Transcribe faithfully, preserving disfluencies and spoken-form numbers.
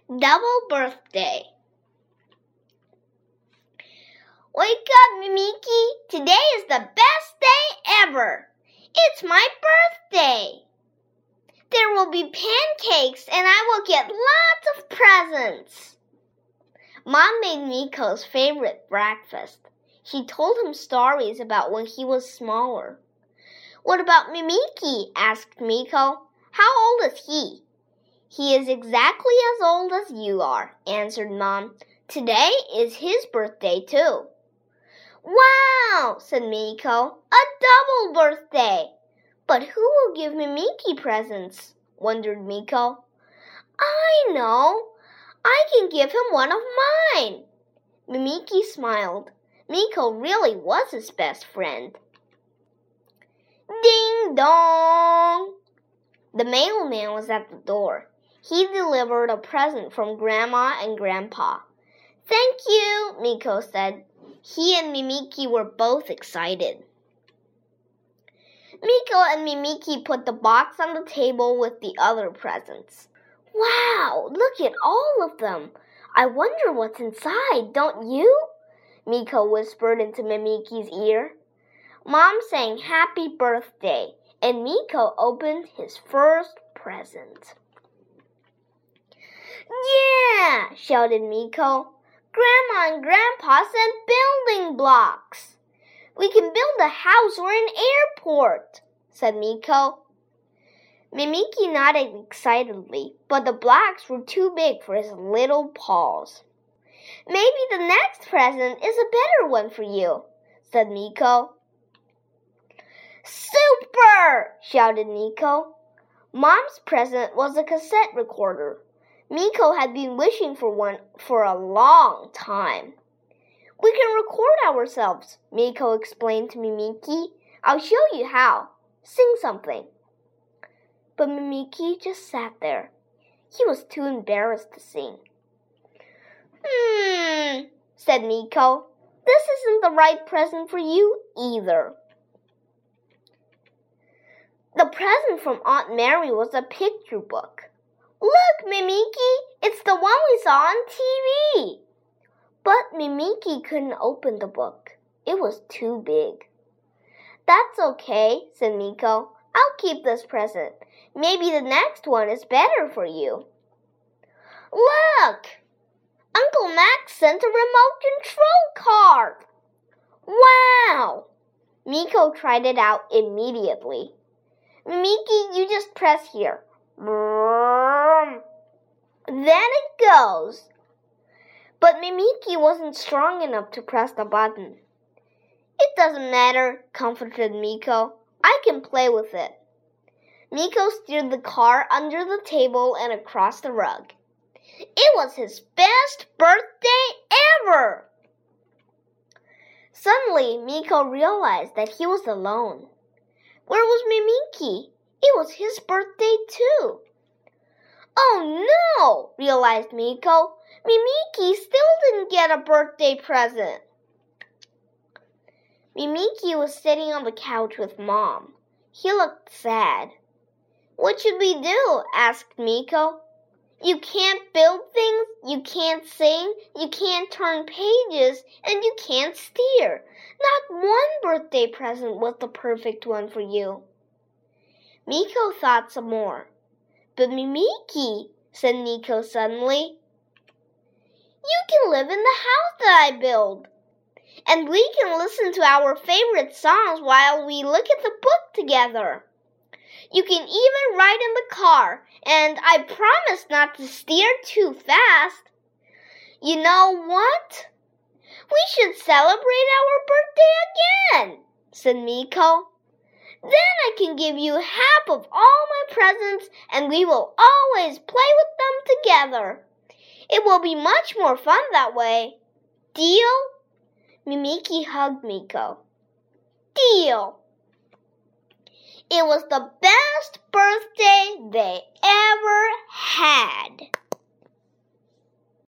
Double birthday. Wake up, Mimiki. Today is the best day ever. It's my birthday. There will be pancakes and I will get lots of presents. Mom made Miko's favorite breakfast. She told him stories about when he was smaller. What about Mimiki? Asked Miko. How old is he? He is exactly as old as you are, answered Mom. Today is his birthday too. Wow, said Miko. A double birthday. But who will give Mimiki presents? Wondered Miko. I know. I can give him one of mine. Mimiki smiled. Miko really was his best friend. Ding dong! The mailman was at the door. He delivered a present from Grandma and Grandpa. Thank you, Miko said. He and Mimiki were both excited. Miko and Mimiki put the box on the table with the other presents. Wow, look at all of them. I wonder what's inside, don't you? Miko whispered into Mimiki's ear. Mom sang happy birthday, and Miko opened his first present. Yeah, shouted Miko. Grandma and Grandpa sent building blocks. We can build a house or an airport, said Miko. Mimiki nodded excitedly, but the blocks were too big for his little paws. Maybe the next present is a better one for you, said Miko. Super! Shouted Miko. Mom's present was a cassette recorder. Miko had been wishing for one for a long time. We can record ourselves, Miko explained to Mimiki. I'll show you how. Sing something. But Mimiki just sat there. He was too embarrassed to sing. Hmm, said Miko. This isn't the right present for you either. The present from Aunt Mary was a picture book. Look, Mimiki, it's the one we saw on T V. But Mimiki couldn't open the book. It was too big. That's okay, said Miko. I'll keep this present. Maybe the next one is better for you. Look! Uncle Max sent a remote control car. Wow! Miko tried it out immediately. Mimiki, you just press here. Then it goes. But Mimiki wasn't strong enough to press the button. It doesn't matter, comforted Miko. I can play with it. Miko steered the car under the table and across the rug. It was his best birthday ever! Suddenly, Miko realized that he was alone. Where was Mimiki? It was his birthday too. Oh no, realized Miko. Mimiki still didn't get a birthday present. Mimiki was sitting on the couch with Mom. He looked sad. What should we do? Asked Miko. You can't build things, you can't sing, you can't turn pages, and you can't steer. Not one birthday present was the perfect one for you. Miko thought some more. But Mimiki, said Miko suddenly, you can live in the house that I build. And we can listen to our favorite songs while we look at the book together. You can even ride in the car, and I promise not to steer too fast. You know what? We should celebrate our birthday again, said Miko. Then I can give you half of all my presents, and we will always play with them together. It will be much more fun that way. Deal? Mimiki hugged Miko. Deal! It was the best birthday they ever had.